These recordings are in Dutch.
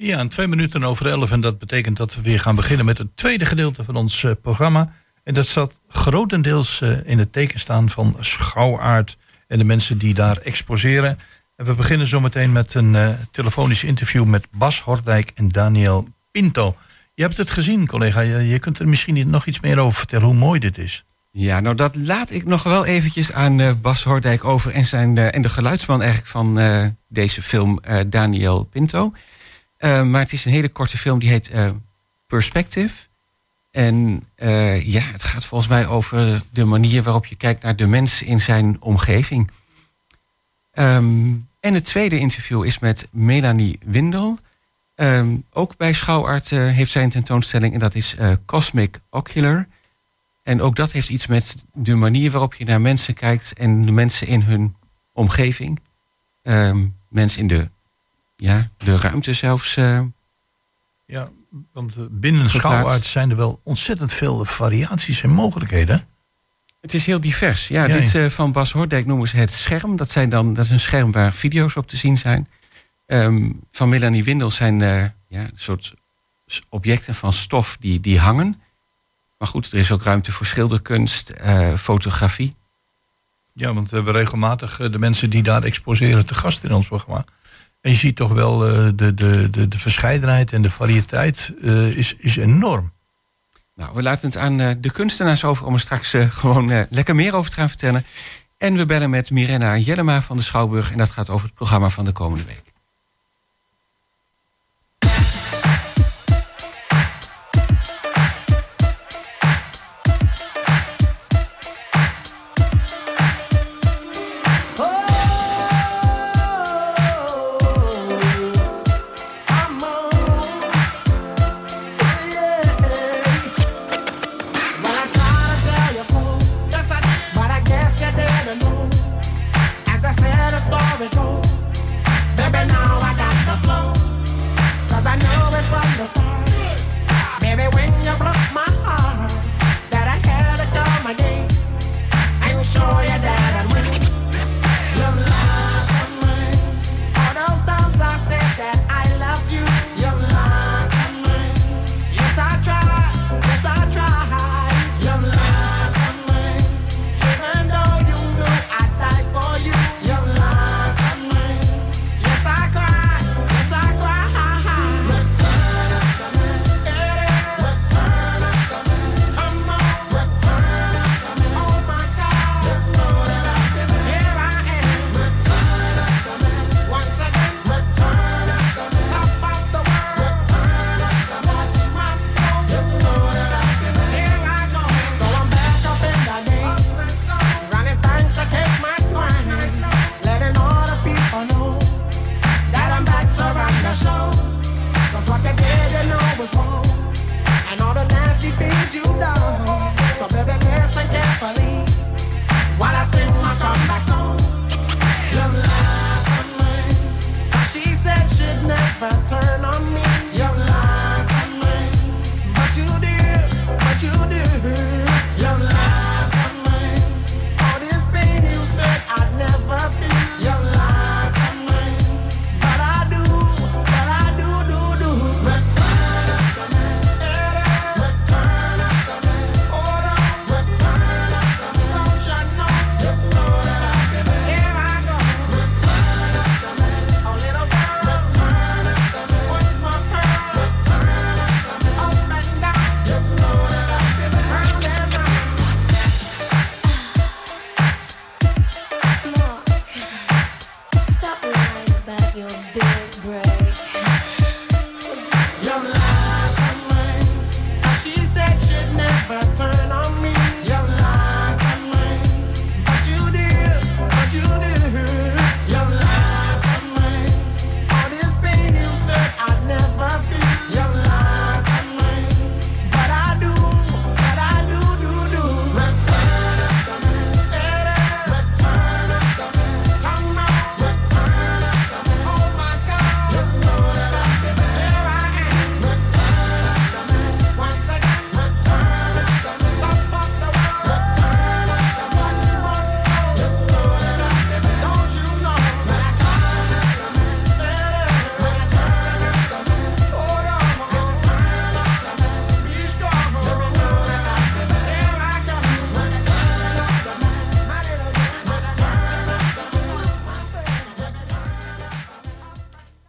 Ja, en 2 minuten over 11. En dat betekent dat we weer gaan beginnen met het tweede gedeelte van ons programma. En dat staat grotendeels in het teken staan van Schouwaard en de mensen die daar exposeren. En we beginnen zometeen met een telefonisch interview met Bas Hordijk en Daniel Pinto. Je hebt het gezien, collega. Je kunt er misschien nog iets meer over vertellen hoe mooi dit is. Ja, nou dat laat ik nog wel eventjes aan Bas Hordijk over en de geluidsman eigenlijk van deze film, Daniel Pinto. Maar het is een hele korte film, die heet Perspective. En het gaat volgens mij over de manier waarop je kijkt naar de mens in zijn omgeving. En het tweede interview is met Melanie Windel. Ook bij Schouwaard heeft zij een tentoonstelling en dat is Cosmic Ocular. En ook dat heeft iets met de manier waarop je naar mensen kijkt en de mensen in hun omgeving. Mensen in de ruimte zelfs. Ja, want binnen Schouwaard zijn er wel ontzettend veel variaties en mogelijkheden. Het is heel divers. Ja, dit van Bas Hordijk noemen ze het scherm. Dat is een scherm waar video's op te zien zijn. Van Melanie Windel zijn een soort objecten van stof die hangen. Maar goed, er is ook ruimte voor schilderkunst, fotografie. Ja, want we hebben regelmatig de mensen die daar exposeren te gast in ons programma. En je ziet toch wel de verscheidenheid en de variëteit is enorm. Nou, we laten het aan de kunstenaars over om er straks gewoon lekker meer over te gaan vertellen. En we bellen met Mirena Jellema van de Schouwburg. En dat gaat over het programma van de komende week. Baby,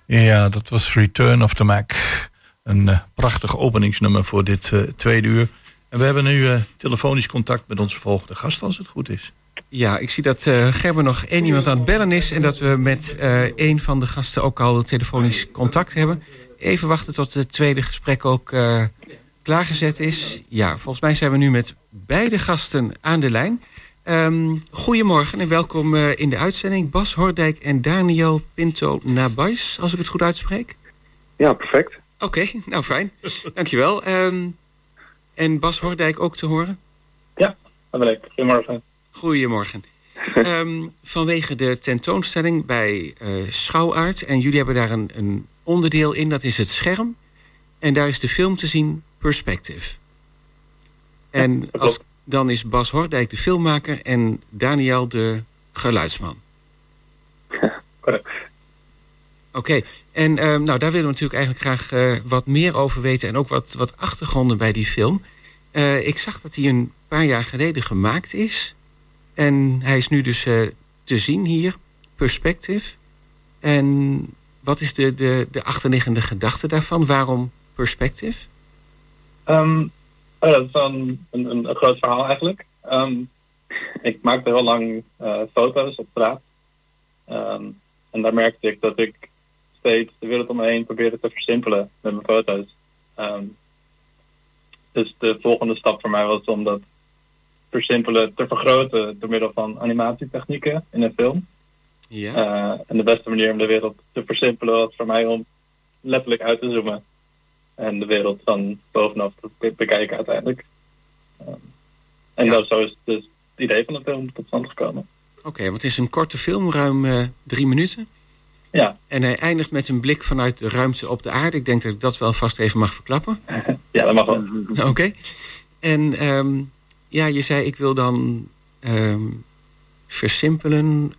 Ja, dat was Return of the Mac. Een prachtig openingsnummer voor dit tweede uur. En we hebben nu telefonisch contact met onze volgende gast, als het goed is. Ja, ik zie dat Gerben nog één iemand aan het bellen is... en dat we met één van de gasten ook al telefonisch contact hebben. Even wachten tot het tweede gesprek ook klaargezet is. Ja, volgens mij zijn we nu met beide gasten aan de lijn. Goedemorgen en welkom in de uitzending. Bas Hordijk en Daniel Pinto Nabais, als ik het goed uitspreek. Ja, perfect. Oké, nou fijn. Dankjewel. En Bas Hordijk ook te horen? Ja, dat ben ik. Goedemorgen. Goedemorgen. Vanwege de tentoonstelling bij Schouwaard... en jullie hebben daar een onderdeel in, dat is het scherm. En daar is de film te zien, Perspective. En dan is Bas Hordijk de filmmaker en Daniel de geluidsman. Correct. Oké, en nou, daar willen we natuurlijk eigenlijk graag wat meer over weten... en ook wat achtergronden bij die film. Ik zag dat hij een paar jaar geleden gemaakt is... En hij is nu dus te zien hier, Perspective. En wat is de achterliggende gedachte daarvan? Waarom Perspective? Dat is een groot verhaal eigenlijk. Ik maakte heel lang foto's op straat. En daar merkte ik dat ik steeds de wereld om me heen probeerde te versimpelen met mijn foto's. Dus de volgende stap voor mij was om dat versimpelen te vergroten door middel van animatietechnieken in een film. Ja. En de beste manier om de wereld te versimpelen was voor mij om letterlijk uit te zoomen. En de wereld van bovenaf te bekijken uiteindelijk. Zo is dus het idee van de film tot stand gekomen. Oké, want het is een korte film, ruim 3 minuten. Ja. En hij eindigt met een blik vanuit de ruimte op de aarde. Ik denk dat ik dat wel vast even mag verklappen. Ja, dat mag wel. Oké. En ja, je zei ik wil dan versimpelen.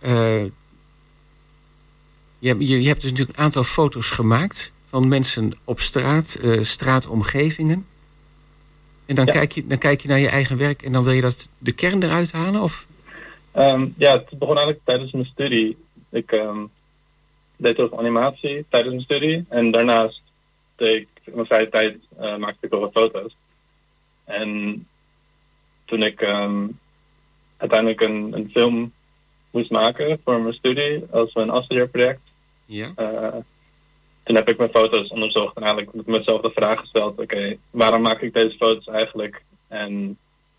Je hebt dus natuurlijk een aantal foto's gemaakt... van mensen op straat, straatomgevingen. En dan, kijk je naar je eigen werk... en dan wil je dat de kern eruit halen? Of? Ja, het begon eigenlijk tijdens mijn studie. Ik deed heel veel animatie tijdens mijn studie. En daarnaast deed ik in mijn vrije tijd maakte ik wel wat foto's. En toen ik uiteindelijk een film moest maken voor mijn studie als een afstudeerproject. Ja. Toen heb ik mijn foto's onderzocht en eigenlijk mezelf de vraag gesteld: oké, waarom maak ik deze foto's eigenlijk? En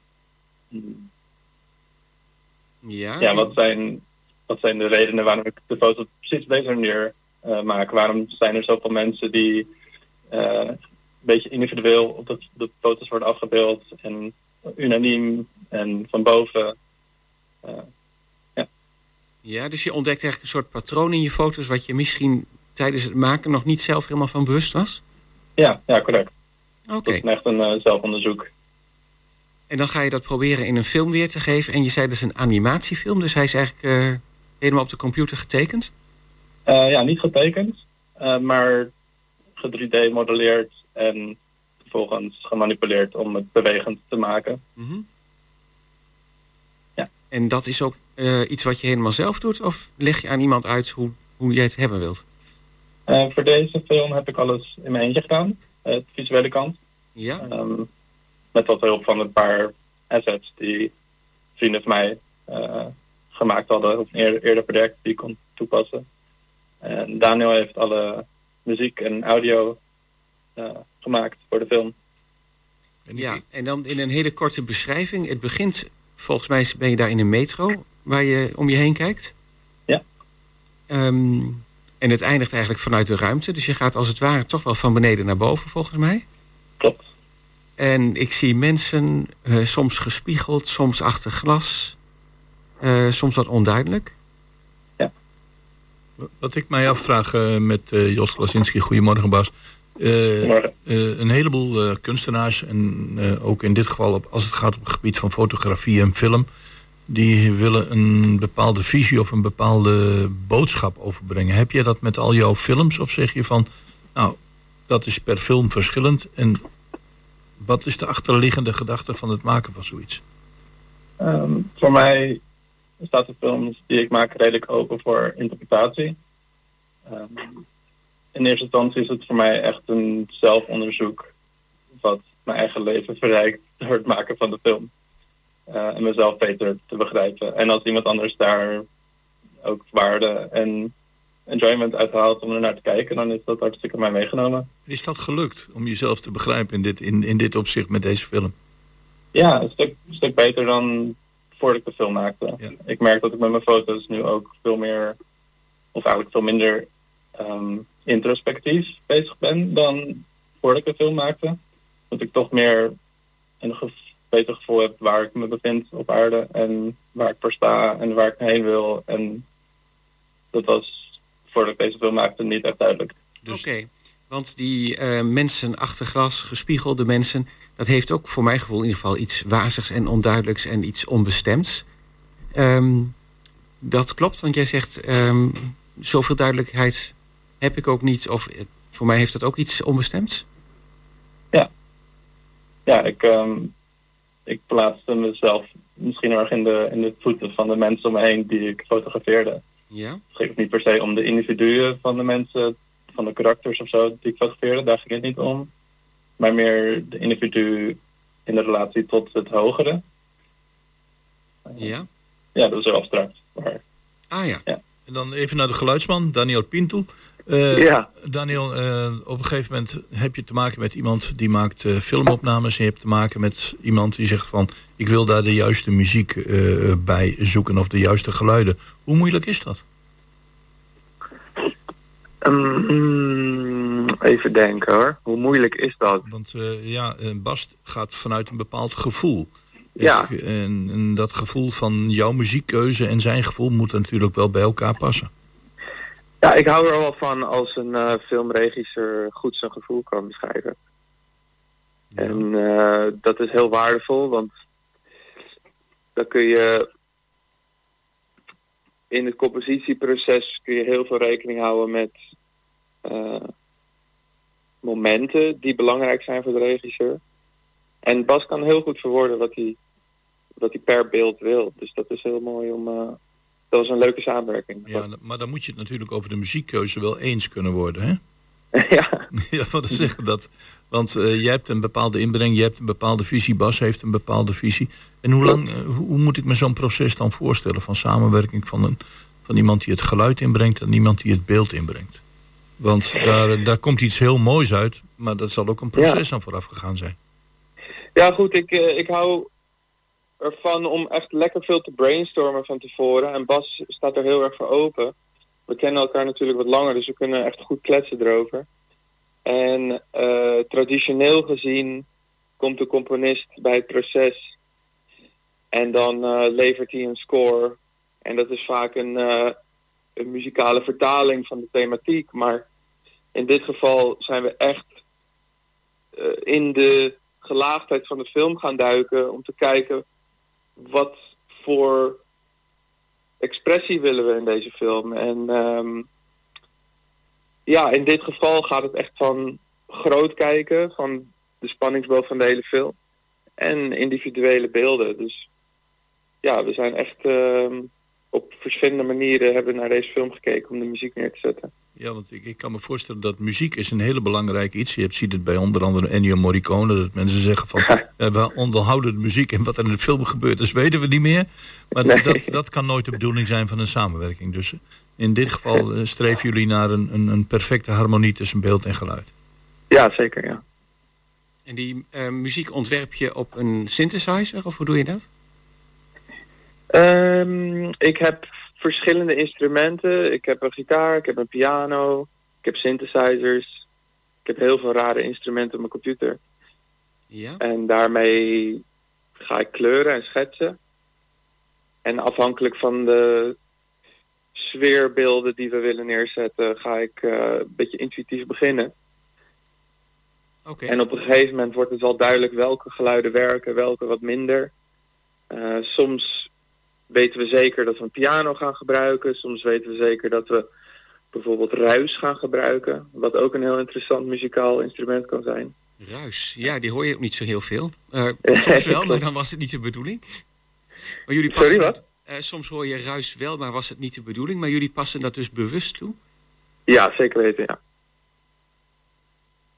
wat zijn de redenen waarom ik de foto's precies op deze manier maak? Waarom zijn er zoveel mensen die een beetje individueel op de foto's worden afgebeeld en unaniem en van boven? Ja, dus je ontdekt eigenlijk een soort patroon in je foto's... wat je misschien tijdens het maken nog niet zelf helemaal van bewust was? Ja, correct. Oké. Dat is echt een zelfonderzoek. En dan ga je dat proberen in een film weer te geven. En je zei dat is een animatiefilm, dus hij is eigenlijk helemaal op de computer getekend? Ja, niet getekend, maar ge-3D-modelleerd en vervolgens gemanipuleerd om het bewegend te maken. Mm-hmm. Ja. En dat is ook iets wat je helemaal zelf doet? Of leg je aan iemand uit hoe jij het hebben wilt? Voor deze film heb ik alles in mijn eentje gedaan. De visuele kant. Ja. Met wat hulp van een paar assets die vrienden van mij gemaakt hadden. Op een eerder project die ik kon toepassen. En Daniel heeft alle muziek en audio gemaakt voor de film. Ja, en dan in een hele korte beschrijving. Het begint, volgens mij ben je daar in een metro waar je om je heen kijkt. Ja. En het eindigt eigenlijk vanuit de ruimte. Dus je gaat als het ware toch wel van beneden naar boven, volgens mij. Klopt. En ik zie mensen, soms gespiegeld, soms achter glas. Soms wat onduidelijk. Ja. Wat ik mij afvraag met Jos Klasinski, goedemorgen Bas. Een heleboel kunstenaars, en ook in dit geval als het gaat op het gebied van fotografie en film, die willen een bepaalde visie of een bepaalde boodschap overbrengen. Heb je dat met al jouw films of zeg je van, nou, dat is per film verschillend en wat is de achterliggende gedachte van het maken van zoiets? Voor mij staat de films die ik maak redelijk open voor interpretatie. in eerste instantie is het voor mij echt een zelfonderzoek wat mijn eigen leven verrijkt door het maken van de film. En mezelf beter te begrijpen. En als iemand anders daar ook waarde en enjoyment uithaalt om er naar te kijken, dan is dat hartstikke mij meegenomen. Is dat gelukt om jezelf te begrijpen in dit opzicht met deze film? Ja, een stuk beter dan voordat ik de film maakte. Ja. Ik merk dat ik met mijn foto's nu ook veel meer, of eigenlijk veel minder introspectief bezig ben dan voordat ik de film maakte. Dat ik toch meer een beter gevoel heb waar ik me bevind op aarde en waar ik voor sta en waar ik heen wil. En dat was voordat ik deze film maakte niet echt duidelijk. Dus... Oké, want die mensen achter glas, gespiegelde mensen, dat heeft ook voor mijn gevoel in ieder geval iets wazigs en onduidelijks en iets onbestemds. Dat klopt, want jij zegt zoveel duidelijkheid heb ik ook niet, of voor mij heeft dat ook iets onbestemds? Ja, ik plaatste mezelf misschien erg in de voeten van de mensen om me heen die ik fotografeerde. Ja? Het ging niet per se om de individuen van de mensen, van de karakters of zo die ik fotografeerde, daar ging het niet om. Maar meer de individu in de relatie tot het hogere. Ja? Ja, dat is heel abstract. Maar, ja. En dan even naar de geluidsman, Daniel Pinto. Daniel, op een gegeven moment heb je te maken met iemand die maakt filmopnames. En je hebt te maken met iemand die zegt van, ik wil daar de juiste muziek bij zoeken of de juiste geluiden. Hoe moeilijk is dat? Even denken hoor. Hoe moeilijk is dat? Want Bas gaat vanuit een bepaald gevoel. Ja. En dat gevoel van jouw muziekkeuze en zijn gevoel moet natuurlijk wel bij elkaar passen. Ja, ik hou er wel van als een filmregisseur goed zijn gevoel kan beschrijven. Ja. En dat is heel waardevol, want dan kun je in het compositieproces kun je heel veel rekening houden met momenten die belangrijk zijn voor de regisseur. En Bas kan heel goed verwoorden wat hij per beeld wil. Dus dat is heel mooi om... dat was een leuke samenwerking. Ja, maar dan moet je het natuurlijk over de muziekkeuze wel eens kunnen worden, hè? Ja. Ja, wat zeggen dat? Want jij hebt een bepaalde inbreng, je hebt een bepaalde visie, Bas heeft een bepaalde visie. En hoe moet ik me zo'n proces dan voorstellen van samenwerking van iemand die het geluid inbrengt en iemand die het beeld inbrengt? Want daar komt iets heel moois uit, maar dat zal ook een proces aan vooraf gegaan zijn. Ja, goed, ik hou ervan om echt lekker veel te brainstormen van tevoren. En Bas staat er heel erg voor open. We kennen elkaar natuurlijk wat langer, dus we kunnen echt goed kletsen erover. En traditioneel gezien komt de componist bij het proces en dan levert hij een score. En dat is vaak een muzikale vertaling van de thematiek. Maar in dit geval zijn we echt in de gelaagdheid van de film gaan duiken om te kijken wat voor expressie willen we in deze film. En in dit geval gaat het echt van groot kijken, van de spanningsboog van de hele film en individuele beelden. Dus ja, we zijn echt op verschillende manieren hebben naar deze film gekeken om de muziek neer te zetten. Ja, want ik kan me voorstellen dat muziek is een hele belangrijk iets. Je ziet het bij onder andere Ennio Morricone, dat mensen zeggen van we onderhouden de muziek en wat er in de film gebeurt, dat weten we niet meer. Maar dat kan nooit de bedoeling zijn van een samenwerking. Dus in dit geval streven jullie naar een perfecte harmonie tussen beeld en geluid. Ja, zeker, ja. En die muziek ontwerp je op een synthesizer, of hoe doe je dat? Ik heb verschillende instrumenten. Ik heb een gitaar, ik heb een piano, ik heb synthesizers. Ik heb heel veel rare instrumenten op mijn computer. Ja. En daarmee ga ik kleuren en schetsen. En afhankelijk van de sfeerbeelden die we willen neerzetten, ga ik een beetje intuïtief beginnen. Okay. En op een gegeven moment wordt het wel duidelijk welke geluiden werken, welke wat minder. Soms weten we zeker dat we een piano gaan gebruiken. Soms weten we zeker dat we bijvoorbeeld ruis gaan gebruiken. Wat ook een heel interessant muzikaal instrument kan zijn. Ruis, ja, die hoor je ook niet zo heel veel. Soms wel, maar dan was het niet de bedoeling. Maar jullie passen. Sorry, wat? Soms hoor je ruis wel, maar was het niet de bedoeling. Maar jullie passen dat dus bewust toe? Ja, zeker weten, ja.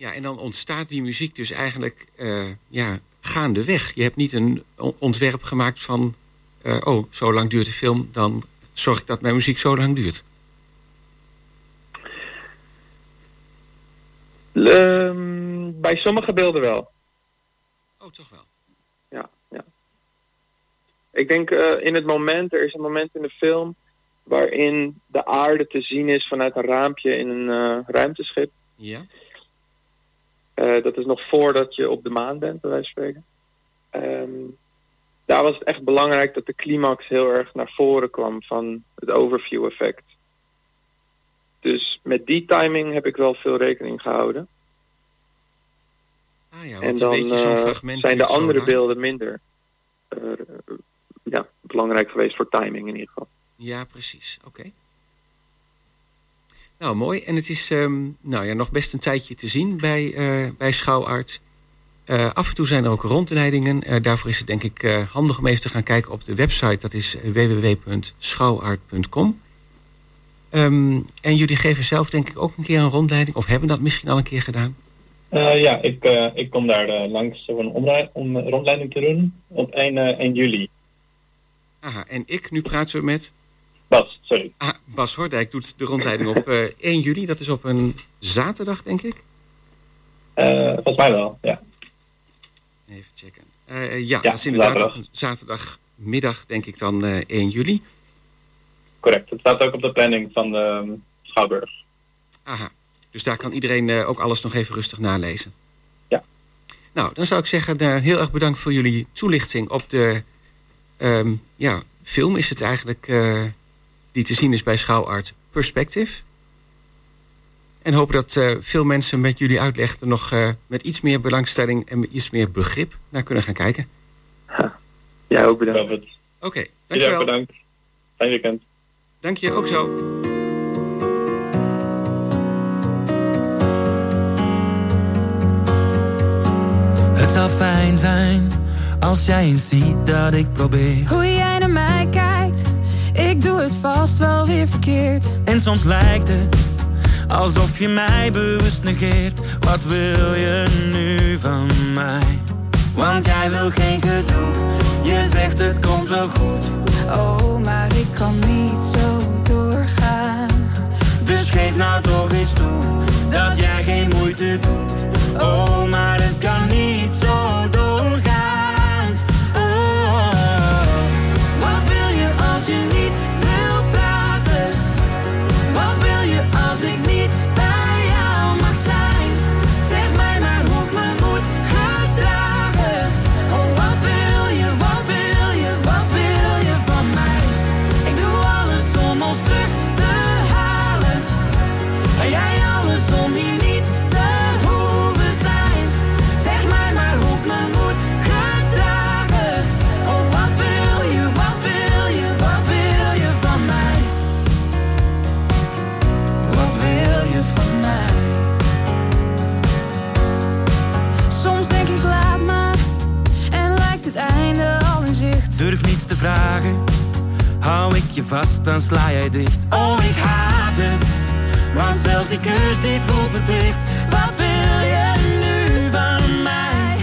Ja, en dan ontstaat die muziek dus eigenlijk gaandeweg. Je hebt niet een ontwerp gemaakt van... zo lang duurt de film, dan zorg ik dat mijn muziek zo lang duurt. Bij sommige beelden wel. Oh, toch wel. Ja. Ik denk er is een moment in de film waarin de aarde te zien is vanuit een raampje in een ruimteschip. Ja. Dat is nog voordat je op de maan bent, bij wijze van spreken. Daar was het echt belangrijk dat de climax heel erg naar voren kwam van het overview effect. Dus met die timing heb ik wel veel rekening gehouden. En dan weet je zo'n fragment zijn de andere beelden minder belangrijk geweest voor timing in ieder geval. Ja, precies. Oké. Nou, mooi. En het is nog best een tijdje te zien bij Schouwarts. Af en toe zijn er ook rondleidingen. Daarvoor is het denk ik handig om even te gaan kijken op de website. Dat is www.schouwart.com. En jullie geven zelf denk ik ook een keer een rondleiding. Of hebben dat misschien al een keer gedaan? Ik kom daar langs om een rondleiding te doen op 1 juli. Aha, en nu praten we met... Bas, sorry. Bas Hordijk doet de rondleiding op 1 juli. Dat is op een zaterdag, denk ik? Volgens mij wel, ja. Even checken. Dat is inderdaad zaterdag. Op een zaterdagmiddag, denk ik dan 1 juli. Correct, het staat ook op de planning van de Schouwburg. Aha, dus daar kan iedereen ook alles nog even rustig nalezen. Ja. Nou, dan zou ik zeggen, heel erg bedankt voor jullie toelichting op de film is het eigenlijk die te zien is bij Schouwart Perspective. En hopen dat veel mensen met jullie uitleg er nog met iets meer belangstelling en met iets meer begrip naar kunnen gaan kijken. Ja, ook bedankt. Oké, dankjewel. Ja, bedankt. Fijn weekend. Dank je, ook zo. Het zou fijn zijn als jij eens ziet dat ik probeer. Hoe jij naar mij kijkt, ik doe het vast wel weer verkeerd. En soms lijkt het alsof je mij bewust negeert. Wat wil je nu van mij? Want jij wil geen gedoe, je zegt het komt wel goed. Oh, maar ik kan niet zo doorgaan. Dus geef nou toch eens toe, dat jij geen moeite doet. Oh, maar het kan niet zo doorgaan. Oh, wat wil je als je niet wil praten? Wat wil je als ik niet bij jou mag zijn? Zeg mij maar hoe ik me moet gedragen. Oh, wat wil je, wat wil je, wat wil je van mij? Ik doe alles om ons terug te halen. En jij alles om hier niet te hoeven zijn. Zeg mij maar hoe ik me moet gedragen. Oh, wat wil je, wat wil je, wat wil je van mij? Wat wil je van mij? Soms denk ik laat maar en lijkt het einde al in zicht. Durf niets te vragen, hou ik je vast, dan sla jij dicht. Oh, ik haat het, want zelfs die kus die voelt verplicht. Wat wil je nu van mij?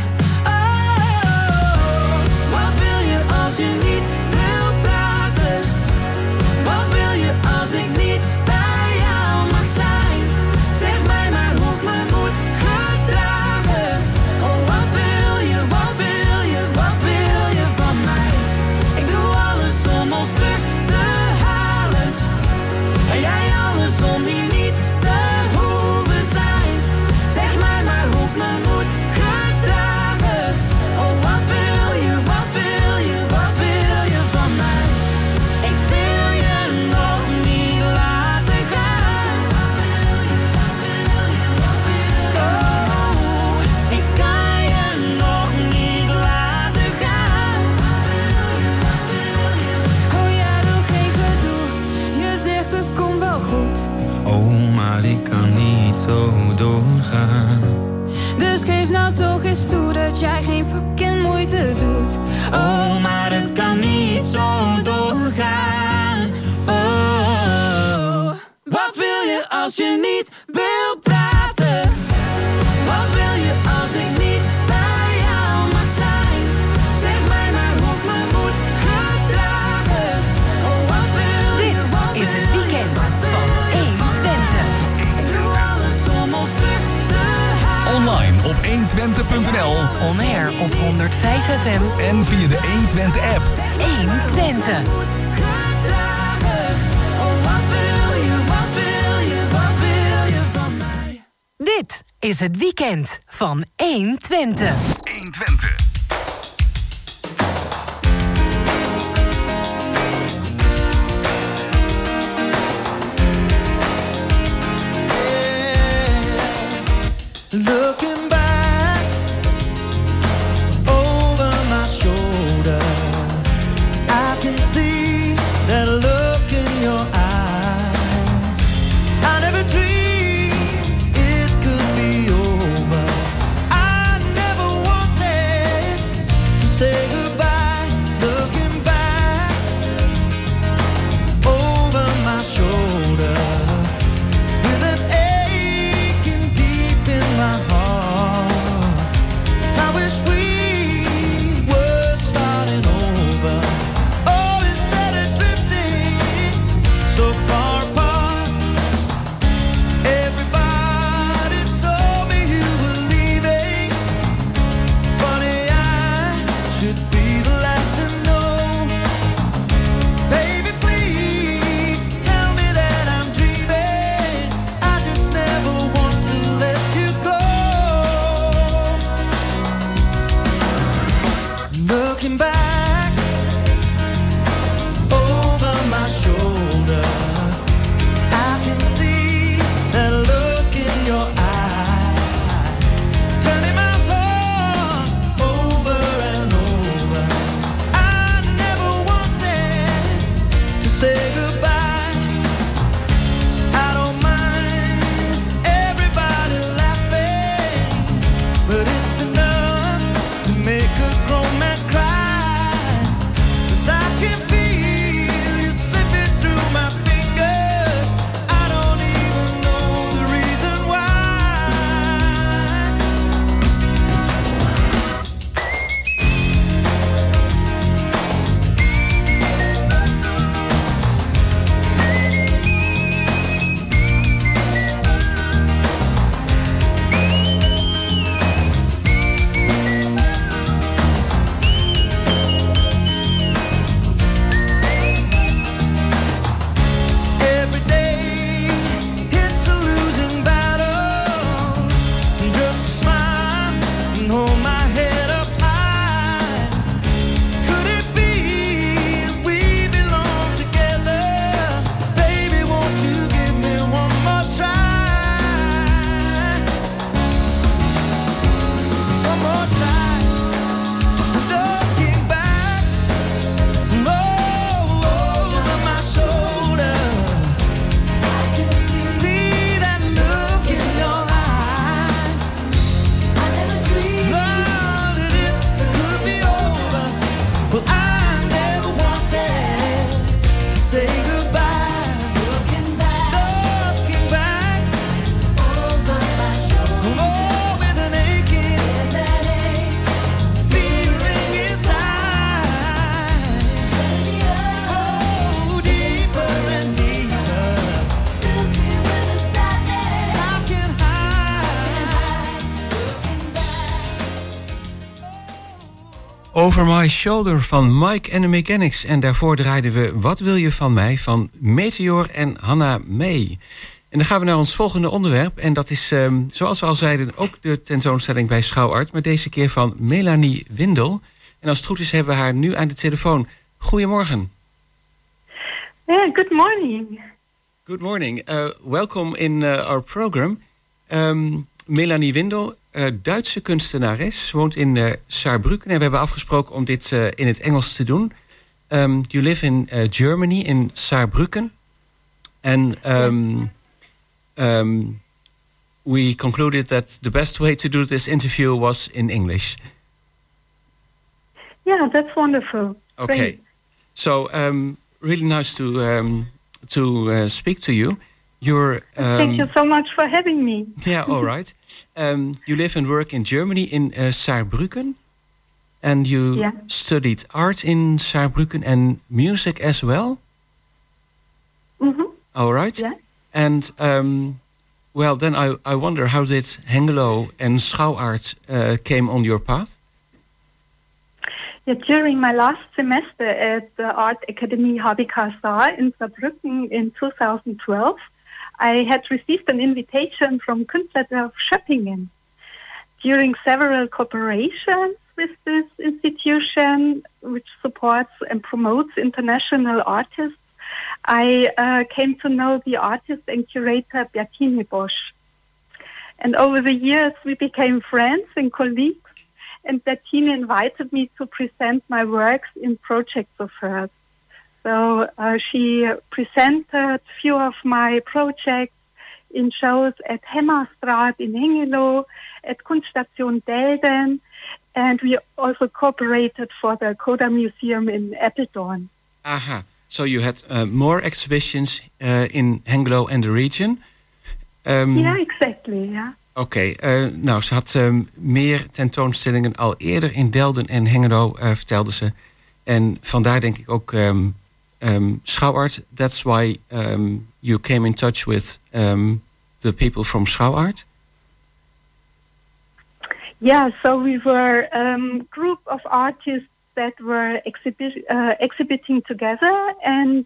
Oh, wat wil je als je niet wil praten? Wat wil je als ik niet bij jou mag zijn? Zeg mij maar hoe ik me moet gedragen. Oh, wat wil je, wat wil je, wat wil je van mij? Ik doe alles om ons terug te halen. En jij alles om hier niet te hoeven zijn. Zeg mij maar hoe ik me moet gedragen. Oh, wat wil je, wat wil je, wat wil je van mij? Ik wil je nog niet laten gaan. Wat wil je, wat wil je, wat wil je? Oh, ik kan je nog niet laten gaan. Wat wil je, wat wil je? Oh, jij wil geen gedoe, je zegt het komt wel goed. Oh, maar ik kan niet zo doorgaan. Dus geef nou toch eens toe dat jij geen fucking moeite doet. Oh, maar het kan niet zo doorgaan. Oh, wat wil je als je niet wil praten? Wat 120.nl. On air op 105 FM. En via de 120 app. 120. Dit is het weekend van 120. 120. Looking back over my shoulder, I can see that look in your eye. I never dreamed it could be over. I never wanted to say goodbye. Looking back over my shoulder, with an aching deep in my heart. I wish we were starting over. Oh, instead of drifting so far apart. Everybody told me you were leaving. Funny, I should be the last to know. Baby, please tell me that I'm dreaming. I just never want to let you go. Looking back over my shoulder, I can see that look in your eye, turning my heart over and over. I never wanted to say goodbye. I don't mind everybody laughing, but it's enough to make a grown man cry. 'Cause I can feel you slipping through my fingers. I don't even know the reason why. Every day it's a losing battle. Just to smile and hold my head up high. Could it be we belong together? Baby, won't you give me one more try? One more try. Looking back over my shoulder, I can see that look in your eye. I never dreamed that it could be over. Well, I never wanted to say goodbye. Looking back over my shoulder, oh, with an aching feeling inside. Oh, deeper and deeper. I can hide. Over My Shoulder van Mike and the Mechanics. En daarvoor draaiden we Wat wil je van mij van Meteor en Hannah May. En dan gaan we naar ons volgende onderwerp. En dat is, zoals we al zeiden, ook de tentoonstelling bij Schouwart. Maar deze keer van Melanie Windel. En als het goed is hebben we haar nu aan de telefoon. Goedemorgen. Yeah, good morning. Good morning. Welcome in our program. Melanie Windel, Duitse kunstenares, woont in Saarbrücken. En we hebben afgesproken om dit in het Engels te doen. You live in Germany, in Saarbrücken. And we concluded that the best way to do this interview was in English. Yeah, that's wonderful. Okay. Great. So, really nice to speak to you. You're Thank you so much for having me. yeah, all right. You live and work in Germany in Saarbrücken, and you studied art in Saarbrücken and music as well. Mm-hmm. All right. Yeah. And Well, then I wonder, how did Hengelo and Schouwart came on your path? Yeah, during my last semester at the Art Academy HBK in Saarbrücken in 2012, I had received an invitation from Künstlerdorf Schöppingen. During several cooperations with this institution, which supports and promotes international artists, I came to know the artist and curator Bertine Bosch. And over the years, we became friends and colleagues, and Bertine invited me to present my works in projects of hers. So she presented a few of my projects in shows at Hemmerstraat in Hengelo, at Kunststation Delden, and we also cooperated for the Coda Museum in Apeldoorn. Aha. So you had more exhibitions in Hengelo and the region. Yeah, exactly, yeah. Oké, nou, ze had meer tentoonstellingen al eerder in Delden en Hengelo, vertelde ze. En vandaar denk ik ook Schouwart. That's why you came in touch with the people from Schouwart. Yeah, so we were a group of artists that were exhibiting together, and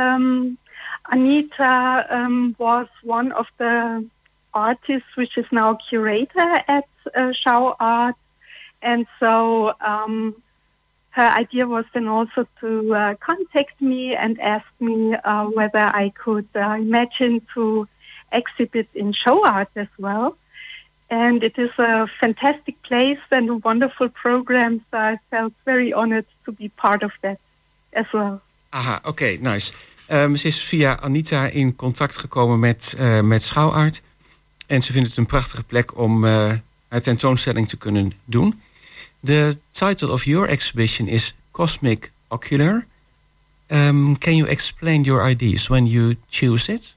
Anita was one of the artists which is now curator at Schouwart, and so her idea was then also to contact me and ask me whether I could imagine to exhibit in Schouwart as well. And it is a fantastic place and a wonderful program, so I felt very honored to be part of that as well. Aha, oké, nice. Ze is via Anita in contact gekomen met Schouwart. En ze vindt het een prachtige plek om haar tentoonstelling te kunnen doen. The title of your exhibition is Cosmic Ocular. Can you explain your ideas when you choose it?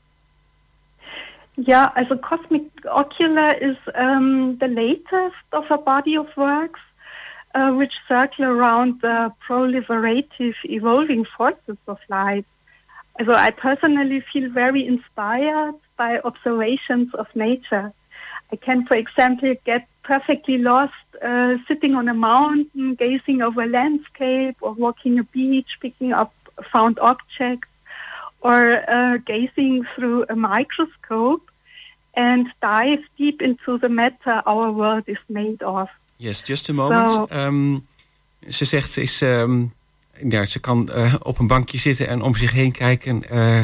Yeah, as a Cosmic Ocular is the latest of a body of works which circle around the proliferative evolving forces of life. So I personally feel very inspired by observations of nature. I can, for example, get perfectly lost sitting on a mountain, gazing over a landscape, or walking a beach, picking up found objects, or gazing through a microscope and dive deep into the matter our world is made of. Yes, just a moment. So, ze zegt, ze kan op een bankje zitten en om zich heen kijken.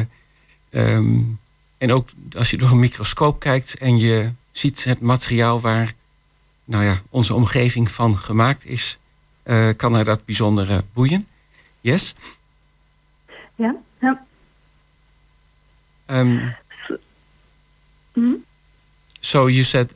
En ook als je door een microscoop kijkt en je ziet het materiaal waar onze omgeving van gemaakt is, kan haar dat bijzonder boeien. Yes? Ja. Ja. So you said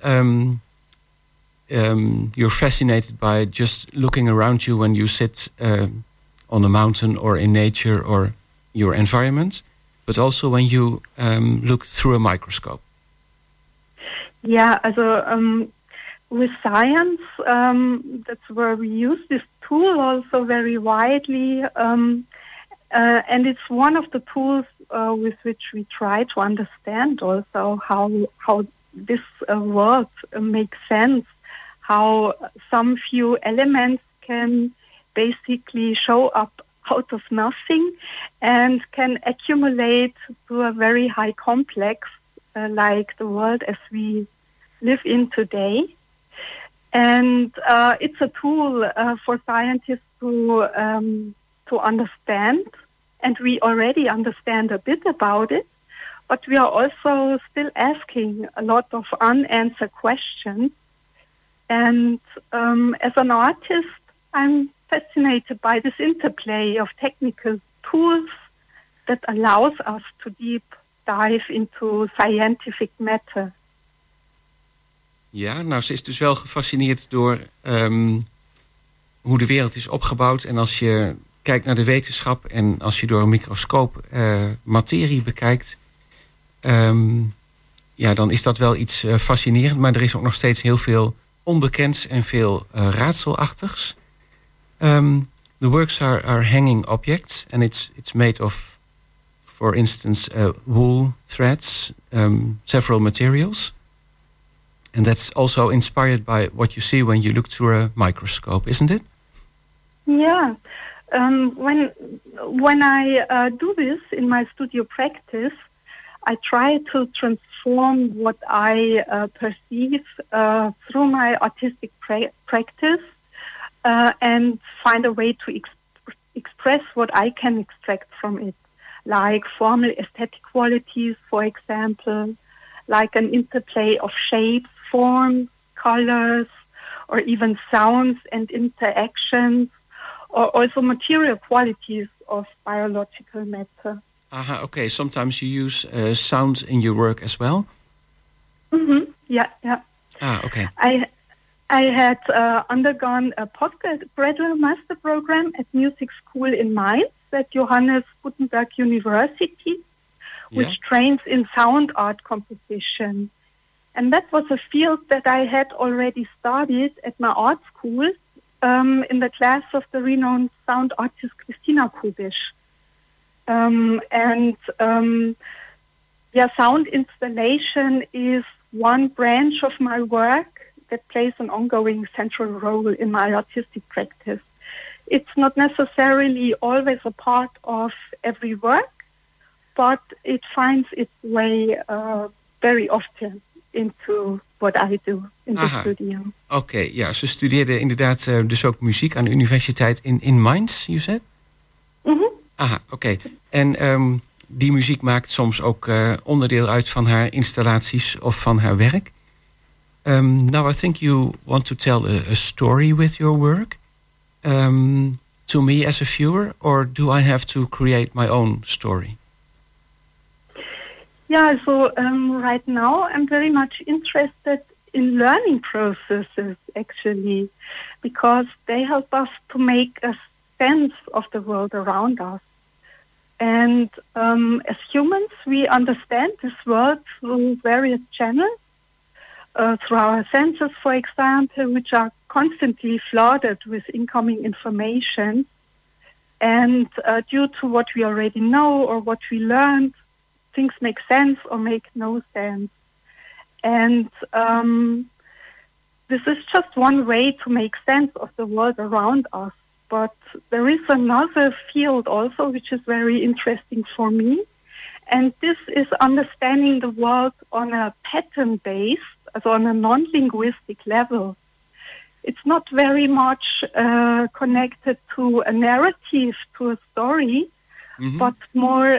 you're fascinated by just looking around you when you sit on a mountain or in nature or your environment, but also when you look through a microscope. Yeah, also with science, that's where we use this tool also very widely, and it's one of the tools with which we try to understand also how this world makes sense, how some few elements can basically show up out of nothing and can accumulate to a very high complex like the world as we live in today. And it's a tool for scientists to understand, and we already understand a bit about it, but we are also still asking a lot of unanswered questions. And as an artist, I'm fascinated by this interplay of technical tools that allows us to deep dive into scientific matter. Ja, nou, ze is dus wel gefascineerd door hoe de wereld is opgebouwd. En als je kijkt naar de wetenschap en als je door een microscoop materie bekijkt, dan is dat wel iets fascinerend. Maar er is ook nog steeds heel veel onbekends en veel raadselachtigs. The works are hanging objects and it's made of for instance, wool, threads, several materials. And that's also inspired by what you see when you look through a microscope, isn't it? Yeah. When I do this in my studio practice, I try to transform what I perceive through my artistic practice and find a way to express what I can extract from it, like formal aesthetic qualities, for example, like an interplay of shapes, forms, colors, or even sounds and interactions, or also material qualities of biological matter. Aha, okay. Sometimes you use sound in your work as well? Mm-hmm. Yeah. Ah, okay. I had undergone a postgraduate master program at music school in Mainz at Johannes Gutenberg University, which trains in sound art composition. And that was a field that I had already studied at my art school in the class of the renowned sound artist Christina Kubisch. Sound installation is one branch of my work that plays an ongoing central role in my artistic practice. It's not necessarily always a part of every work, but it finds its way very often into what I do in the studio. Oké, ja, ze studeerde inderdaad dus ook muziek aan de universiteit in Mainz, you said? Mm-hmm. Aha, oké. En die muziek maakt soms ook onderdeel uit van haar installaties of van haar werk. Now I think you want to tell a story with your work to me as a viewer, or do I have to create my own story? Yeah, so right now I'm very much interested in learning processes, actually, because they help us to make a sense of the world around us. And as humans, we understand this world through various channels, through our senses, for example, which are constantly flooded with incoming information. And due to what we already know or what we learned, things make sense or make no sense. And this is just one way to make sense of the world around us. But there is another field also which is very interesting for me. And this is understanding the world on a pattern-based, also on a non-linguistic level. It's not very much connected to a narrative, to a story, but more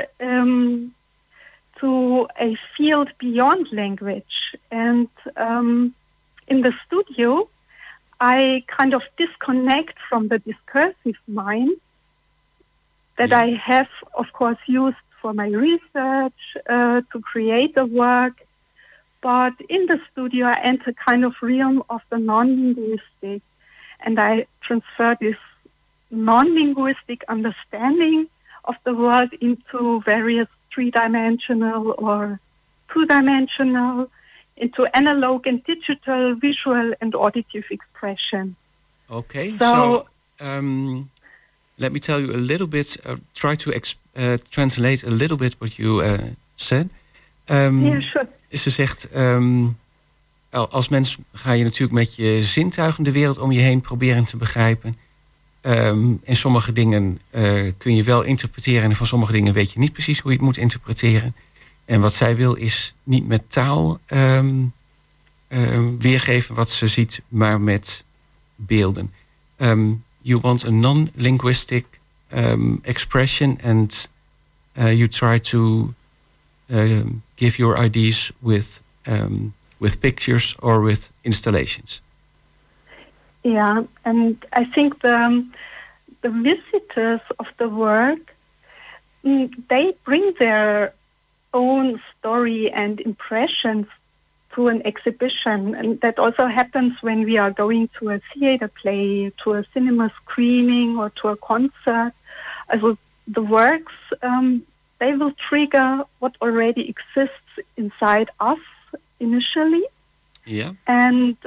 to a field beyond language. And in the studio, I kind of disconnect from the discursive mind that I have, of course, used for my research to create the work. But in the studio, I enter kind of realm of the non-linguistic, and I transfer this non-linguistic understanding of the world into various three-dimensional or two-dimensional, into analog and digital, visual and auditive expression. Okay, so let me tell you a little bit, try to translate a little bit what you said. Yeah, sure. Ze zegt, als mens ga je natuurlijk met je zintuigen de wereld om je heen proberen te begrijpen. En sommige dingen kun je wel interpreteren en van sommige dingen weet je niet precies hoe je het moet interpreteren. En wat zij wil is niet met taal weergeven wat ze ziet, maar met beelden. You want a non-linguistic expression and you try to give your ideas with pictures or with installations. Yeah, and I think the visitors of the work, they bring their own story and impressions to an exhibition, and that also happens when we are going to a theater play, to a cinema screening, or to a concert. Also, the works, they will trigger what already exists inside us initially. Yeah. And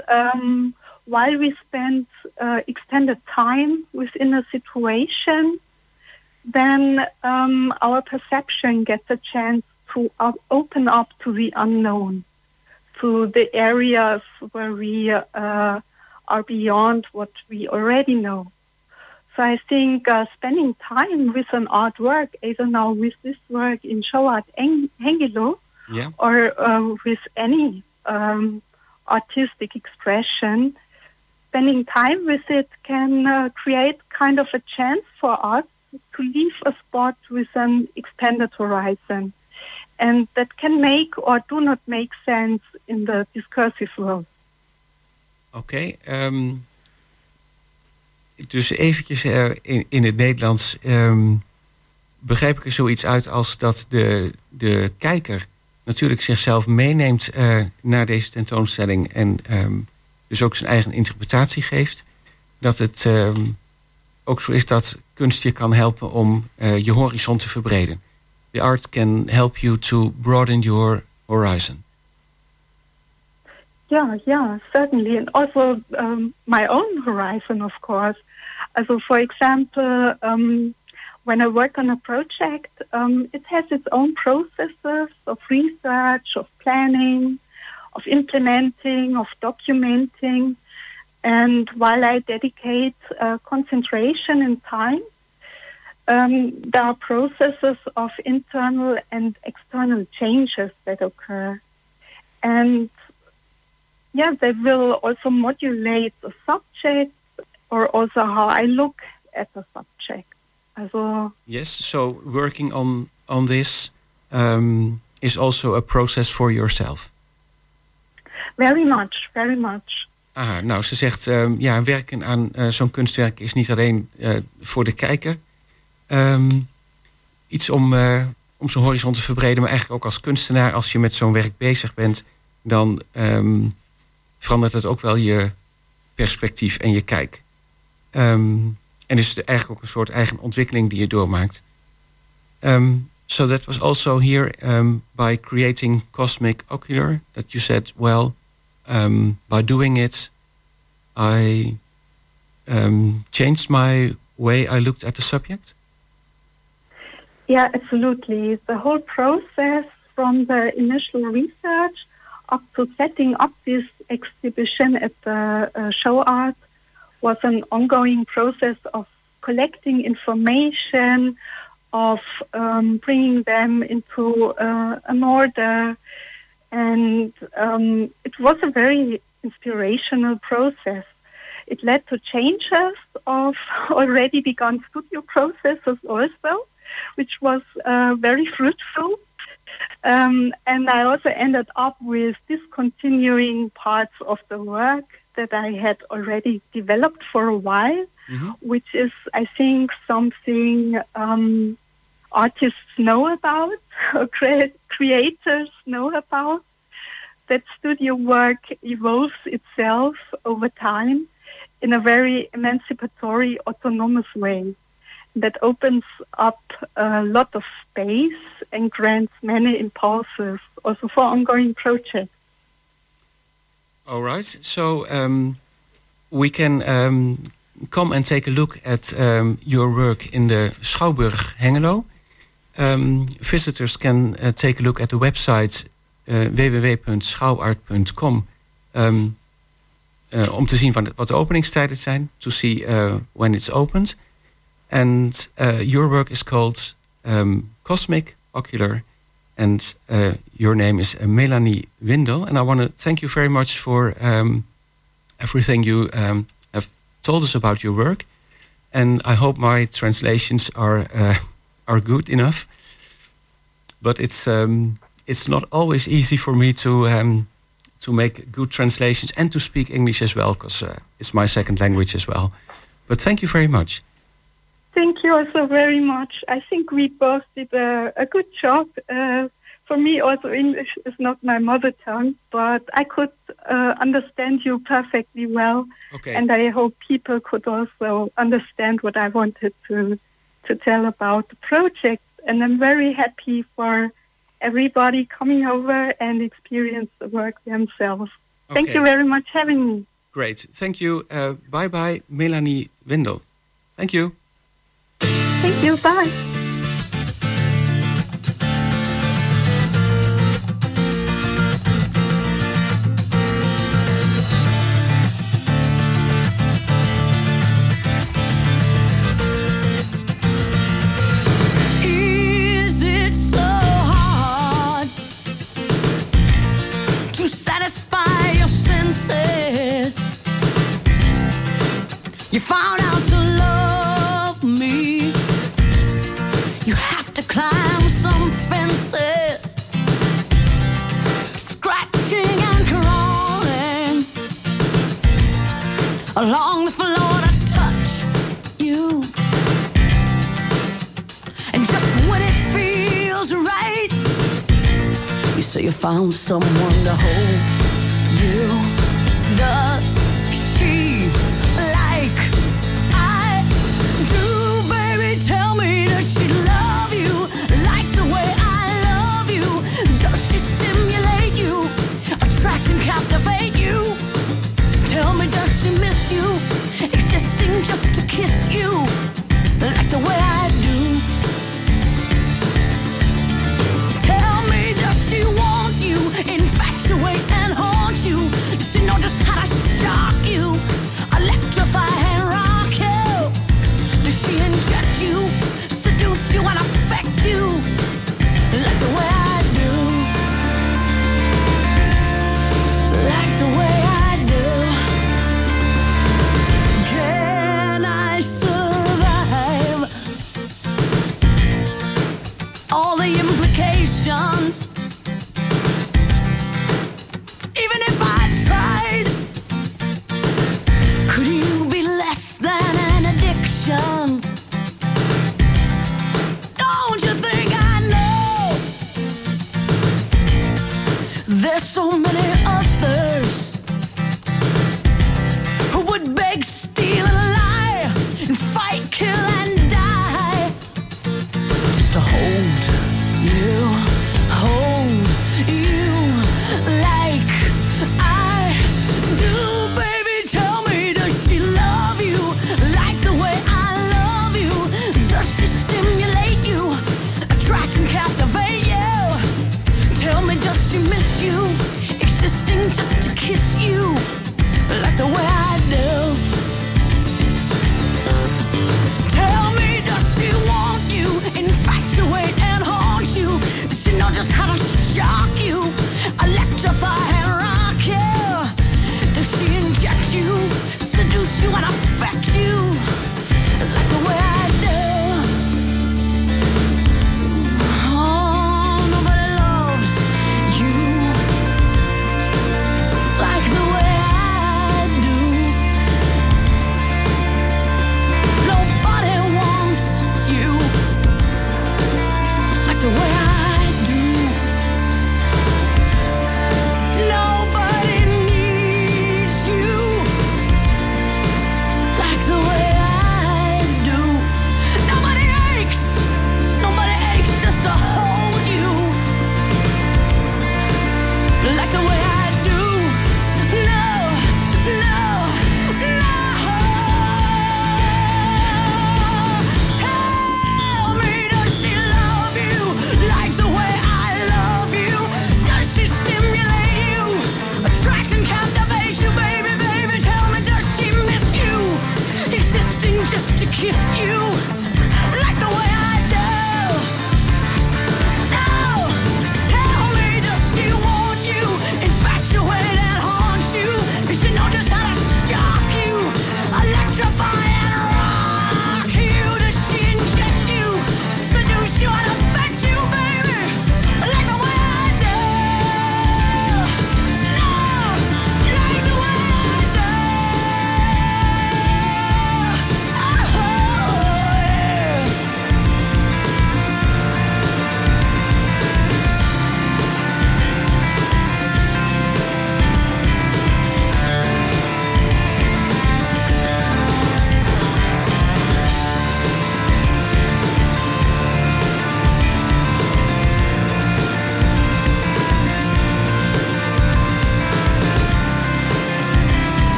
while we spend extended time within a situation, then our perception gets a chance to open up to the unknown, to the areas where we are beyond what we already know. So I think spending time with an artwork, either now with this work in Show Art Hengelo, or with any artistic expression, spending time with it can create kind of a chance for us to leave a spot with an expanded horizon. And that can make or do not make sense in the discursive world. Oké. Dus eventjes in het Nederlands begrijp ik er zoiets uit als dat de kijker natuurlijk zichzelf meeneemt naar deze tentoonstelling en dus ook zijn eigen interpretatie geeft. Dat het ook zo is dat kunst je kan helpen om je horizon te verbreden. The art can help you to broaden your horizon. Yeah, certainly. And also my own horizon, of course. Also, for example, when I work on a project, it has its own processes of research, of planning, of implementing, of documenting. And while I dedicate concentration and time, there are processes of internal and external changes that occur. And they will also modulate the subject or also how I look at the subject. Yes, so working on this is also a process for yourself. Very much. Aha, nou, ze zegt, werken aan zo'n kunstwerk is niet alleen voor de kijker. Iets om zijn horizon te verbreden, maar eigenlijk ook als kunstenaar, als je met zo'n werk bezig bent, dan verandert het ook wel je perspectief en je kijk. En is het eigenlijk ook een soort eigen ontwikkeling die je doormaakt. So that was also here by creating Cosmic Ocular, that you said, well, by doing it, I changed my way I looked at the subject? Yeah, absolutely. The whole process from the initial research up to setting up this exhibition at the Show Art was an ongoing process of collecting information, of bringing them into an order. And it was a very inspirational process. It led to changes of already begun studio processes also, which was very fruitful. And I also ended up with discontinuing parts of the work that I had already developed for a while, which is, I think, something artists know about, or creators know about, that studio work evolves itself over time in a very emancipatory, autonomous way that opens up a lot of space and grants many impulses also for ongoing projects. All right. So we can come and take a look at your work in the Schouwburg Hengelo. Visitors can take a look at the website www.schouwart.com om te zien wat de openingstijden zijn, to see when it's opened. And your work is called Cosmic Ocular, and your name is Melanie Windel. And I want to thank you very much for everything you have told us about your work. And I hope my translations are good enough. But it's not always easy for me to make good translations and to speak English as well, because it's my second language as well. But thank you very much. Thank you also very much. I think we both did a good job. For me also English is not my mother tongue, but I could understand you perfectly well. Okay. And I hope people could also understand what I wanted to tell about the project. And I'm very happy for everybody coming over and experience the work themselves. Okay. Thank you very much for having me. Great. Thank you. Bye-bye, Melanie Windel. Thank you. Thank you. Bye. Is it so hard to satisfy your senses? You found out to love me. You have to climb some fences, scratching and crawling along the floor to touch you. And just when it feels right, you say you found someone to hold you. Does she like I do, baby? Tell me, does she love you like the way I love you? Does she stimulate you, attract and captivate you? Tell me, does she miss you, existing just to kiss you like the way I do? Tell me, does she want you, infatuate and haunt you? Does she know just how to shock you, electrify and rock you? Does she inject you, seduce you and affect you like the way I do? Like the way I do. Can I survive all the implications? Even if I tried, could you be less than an addiction? Don't you think I know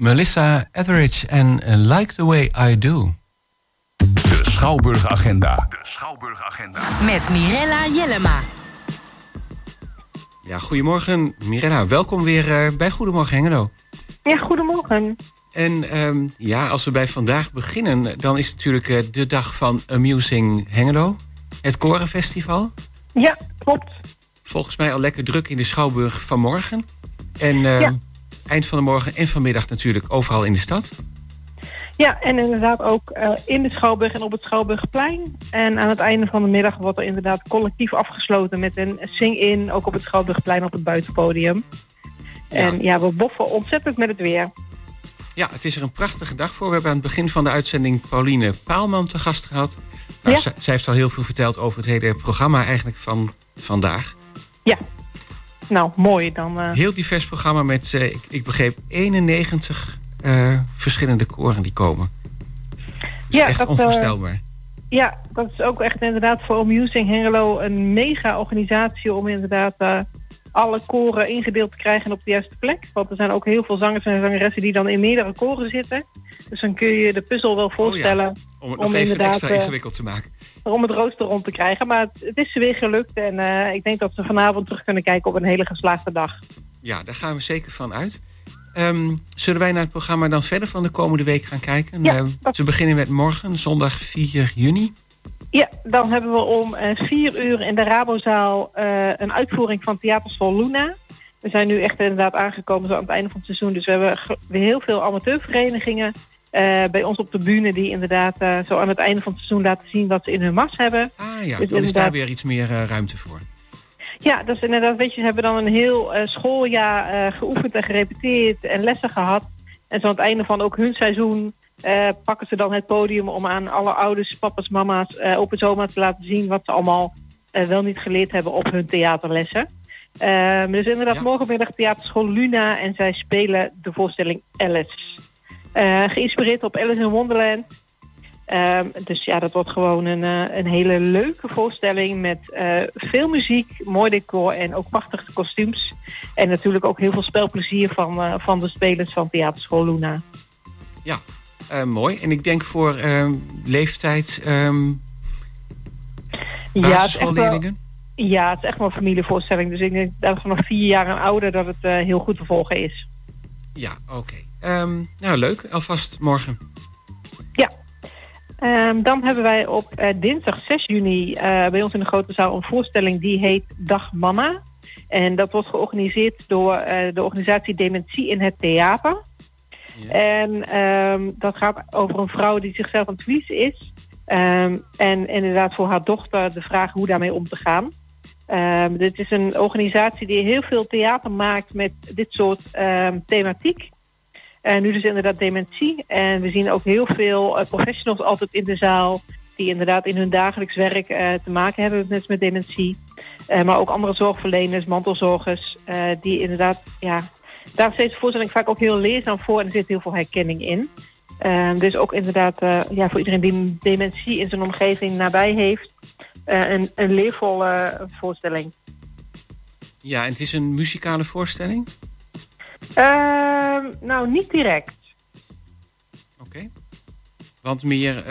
Melissa Etheridge en Like the Way I Do. De Schouwburg-agenda. Met Mirella Jellema. Ja, goedemorgen Mirella. Welkom weer bij Goedemorgen Hengelo. Ja, goedemorgen. En als we bij vandaag beginnen, dan is het natuurlijk de dag van Amusing Hengelo. Het Korenfestival. Ja, klopt. Volgens mij al lekker druk in de Schouwburg vanmorgen. En eind van de morgen en vanmiddag natuurlijk overal in de stad. Ja, en inderdaad ook in de Schouwburg en op het Schouwburgplein. En aan het einde van de middag wordt er inderdaad collectief afgesloten met een sing-in, ook op het Schouwburgplein op het buitenpodium. Ja. En we boffen ontzettend met het weer. Ja, het is er een prachtige dag voor. We hebben aan het begin van de uitzending Pauline Paalman te gast gehad. Nou, zij heeft al heel veel verteld over het hele programma eigenlijk van vandaag. Ja, nou mooi dan. Heel divers programma met, ik begreep, 91 verschillende koren die komen. Dat is echt onvoorstelbaar. Dat is ook echt inderdaad voor Amusing Hengelo een mega organisatie om inderdaad alle koren ingedeeld te krijgen op de juiste plek. Want er zijn ook heel veel zangers en zangeressen die dan in meerdere koren zitten. Dus dan kun je de puzzel wel voorstellen. Om het nog even extra ingewikkeld te maken. Om het rooster rond te krijgen. Maar het is ze weer gelukt. En ik denk dat ze vanavond terug kunnen kijken op een hele geslaagde dag. Ja, daar gaan we zeker van uit. Zullen wij naar het programma dan verder van de komende week gaan kijken? Ze beginnen met morgen, zondag 4 juni. Ja, dan hebben we om 4 uur in de Rabozaal een uitvoering van Theaterschool Luna. We zijn nu echt inderdaad aangekomen zo aan het einde van het seizoen. Dus we hebben weer heel veel amateurverenigingen bij ons op de bühne die inderdaad zo aan het einde van het seizoen laten zien wat ze in hun mas hebben. Ah ja, dus dan is daar weer iets meer ruimte voor. Ja, dus inderdaad, weet je, ze hebben dan een heel schooljaar geoefend en gerepeteerd en lessen gehad. En zo aan het einde van ook hun seizoen pakken ze dan het podium om aan alle ouders, papa's, mama's, op het oma te laten zien wat ze allemaal wel niet geleerd hebben op hun theaterlessen. Dus inderdaad, morgenmiddag Theaterschool Luna en zij spelen de voorstelling Alice. Geïnspireerd op Alice in Wonderland. Dus dat wordt gewoon een hele leuke voorstelling met veel muziek, mooi decor en ook prachtige kostuums. En natuurlijk ook heel veel spelplezier van de spelers van Theaterschool Luna. Ja, mooi. En ik denk voor leeftijd basisschoolleerlingen? Ja, het is echt wel een familievoorstelling. Dus ik denk dat vanaf 4 jaar en ouder dat het heel goed te volgen is. Ja, oké. Nou, leuk. Alvast morgen. Ja. Dan hebben wij op dinsdag 6 juni bij ons in de grote zaal een voorstelling die heet Dag Mama. En dat wordt georganiseerd door de organisatie Dementie in het Theater. Ja. En dat gaat over een vrouw die zichzelf aan het verliezen is. En inderdaad voor haar dochter de vraag hoe daarmee om te gaan. Dit is een organisatie die heel veel theater maakt met dit soort thematiek. Nu dus inderdaad dementie. En we zien ook heel veel professionals altijd in de zaal die inderdaad in hun dagelijks werk te maken hebben met dementie. Maar ook andere zorgverleners, mantelzorgers, die inderdaad, daar steeds de voorstelling vaak ook heel leerzaam voor en er zit heel veel herkenning in. Dus ook inderdaad voor iedereen die dementie in zijn omgeving nabij heeft, een leervolle voorstelling. Ja, en het is een muzikale voorstelling? Nou, niet direct. Oké. Want meer,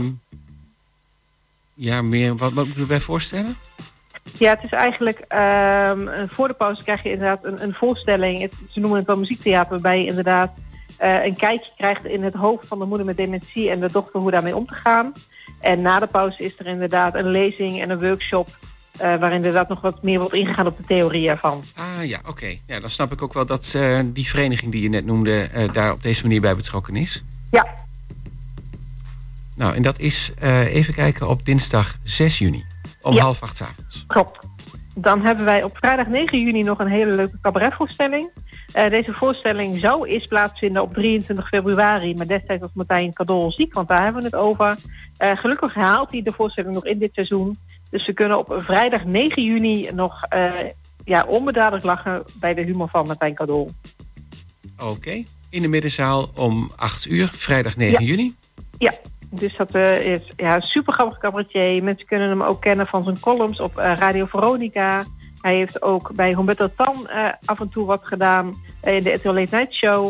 wat moet ik erbij voorstellen? Ja, het is eigenlijk, voor de pauze krijg je inderdaad een voorstelling. Ze noemen het wel muziektheater, waarbij je inderdaad een kijkje krijgt in het hoofd van de moeder met dementie en de dochter hoe daarmee om te gaan. En na de pauze is er inderdaad een lezing en een workshop waar inderdaad nog wat meer wordt ingegaan op de theorie ervan. Ah ja, oké. Ja, dan snap ik ook wel dat die vereniging die je net noemde daar op deze manier bij betrokken is. Ja. Nou, en dat is, even kijken, op dinsdag 6 juni. Om 7:30 'avonds. Klopt. Dan hebben wij op vrijdag 9 juni nog een hele leuke cabaretvoorstelling. Deze voorstelling zou eerst plaatsvinden op 23 februari. Maar destijds was Martijn Kadol ziek, want daar hebben we het over. Gelukkig haalt hij de voorstelling nog in dit seizoen. Dus we kunnen op vrijdag 9 juni nog onbedadelijk lachen bij de humor van Martijn Kadol. Oké. In de middenzaal om 8 uur, vrijdag 9 juni. Ja. Dus dat is een super grappig cabaretier. Mensen kunnen hem ook kennen van zijn columns op Radio Veronica. Hij heeft ook bij Humberto Tan af en toe wat gedaan in de RTL Late Night Show.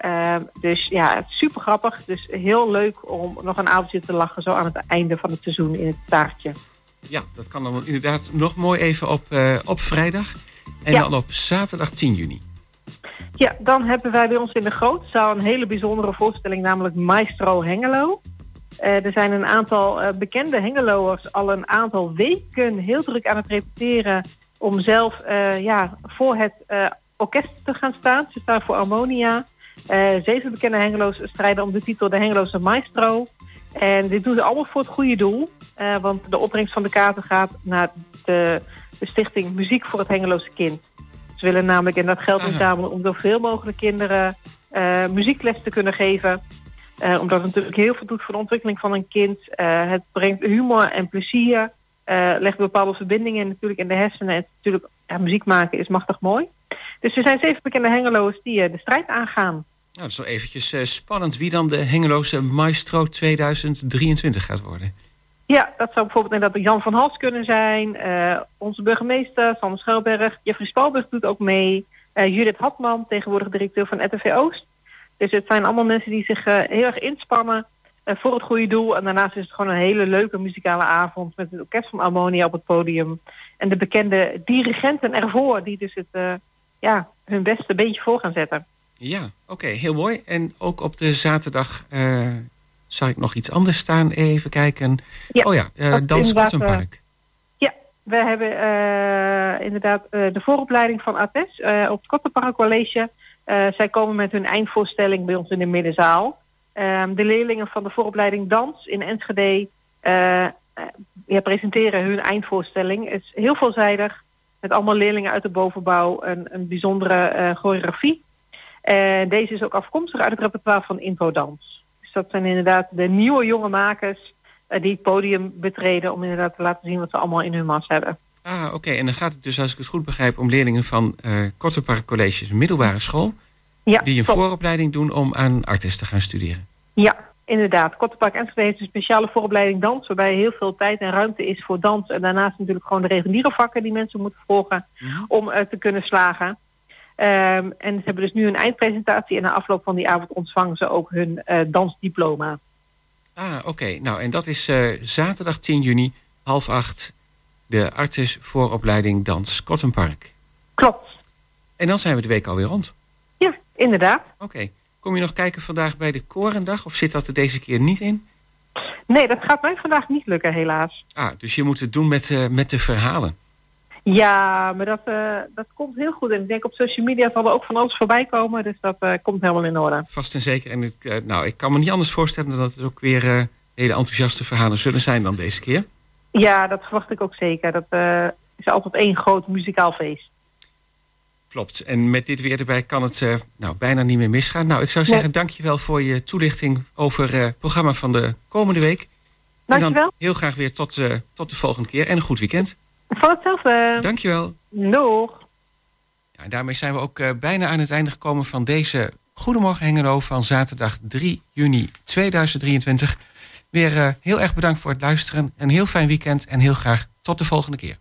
Dus ja, het is super grappig. Dus heel leuk om nog een avondje te lachen zo aan het einde van het seizoen in het taartje. Ja, dat kan dan inderdaad nog mooi even op vrijdag. En dan op zaterdag 10 juni. Ja, dan hebben wij bij ons in de grote zaal een hele bijzondere voorstelling, namelijk Maestro Hengelo. Er zijn een aantal bekende Hengeloers al een aantal weken heel druk aan het repeteren om zelf voor het orkest te gaan staan. Ze staan voor Harmonia. 7 bekende Hengelo's strijden om de titel de Hengeloze Maestro. En dit doen ze allemaal voor het goede doel. Want de opbrengst van de kaarten gaat naar de stichting Muziek voor het Hengeloze Kind. Ze willen namelijk in dat geld inzamelen om zoveel mogelijk kinderen muziekles te kunnen geven. Omdat het natuurlijk heel veel doet voor de ontwikkeling van een kind. Het brengt humor en plezier. Legt bepaalde verbindingen natuurlijk in de hersenen. En natuurlijk, muziek maken is machtig mooi. Dus er zijn 7 bekende Hengelo's die de strijd aangaan. Nou, dat is wel eventjes spannend wie dan de Hengeloze Maestro 2023 gaat worden. Ja, dat zou bijvoorbeeld inderdaad Jan van Hals kunnen zijn. Onze burgemeester, Sander Schelberg. Jeffrey Spalberg doet ook mee. Judith Hatman, tegenwoordig directeur van RTV Oost. Dus het zijn allemaal mensen die zich heel erg inspannen voor het goede doel. En daarnaast is het gewoon een hele leuke muzikale avond met het orkest van Harmonia op het podium. En de bekende dirigenten ervoor die dus het, hun beste beentje voor gaan zetten. Ja, oké, heel mooi. En ook op de zaterdag zag ik nog iets anders staan. Even kijken. Ja, Dans Kottenpark. We hebben inderdaad de vooropleiding van ATES op het Kottenpark College. Zij komen met hun eindvoorstelling bij ons in de middenzaal. De leerlingen van de vooropleiding Dans in Enschede presenteren hun eindvoorstelling. Het is heel veelzijdig, met allemaal leerlingen uit de bovenbouw, een bijzondere choreografie. Deze is ook afkomstig uit het repertoire van Infodans. Dus dat zijn inderdaad de nieuwe jonge makers die het podium betreden om inderdaad te laten zien wat ze allemaal in hun mars hebben. Oké. En dan gaat het dus, als ik het goed begrijp, om leerlingen van Kottenpark College's middelbare school. Ja, die een vooropleiding doen om aan Artes te gaan studeren. Ja, inderdaad. Kottenpark Enschede heeft een speciale vooropleiding dans, waarbij heel veel tijd en ruimte is voor dans. En daarnaast natuurlijk gewoon de reguliere vakken die mensen moeten volgen om te kunnen slagen. En ze hebben dus nu een eindpresentatie en na afloop van die avond ontvangen ze ook hun dansdiploma. Oké. Nou, en dat is zaterdag 10 juni, 7:30, de Artes vooropleiding dans Kottenpark. Klopt. En dan zijn we de week alweer rond. Ja, inderdaad. Oké. Kom je nog kijken vandaag bij de Korendag of zit dat er deze keer niet in? Nee, dat gaat mij vandaag niet lukken, helaas. Dus je moet het doen met de verhalen. Ja, maar dat komt heel goed. En ik denk op social media zal er ook van alles voorbij komen. Dus dat komt helemaal in orde. Vast en zeker. En ik kan me niet anders voorstellen dan dat het ook weer hele enthousiaste verhalen zullen zijn dan deze keer. Ja, dat verwacht ik ook zeker. Dat is altijd één groot muzikaal feest. Klopt. En met dit weer erbij kan het bijna niet meer misgaan. Nou, ik zou zeggen, dankjewel voor je toelichting over het programma van de komende week. Dankjewel. En dan heel graag weer tot de volgende keer. En een goed weekend. Van hetzelfde. Dankjewel. Doeg. Ja, en daarmee zijn we ook bijna aan het einde gekomen van deze Goedemorgen Hengelo van zaterdag 3 juni 2023. Weer heel erg bedankt voor het luisteren. Een heel fijn weekend en heel graag tot de volgende keer.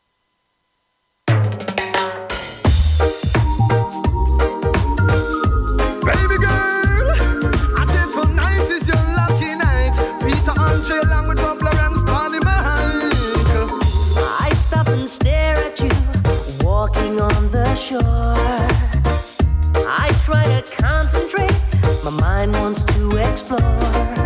On the shore, I try to concentrate. My mind wants to explore.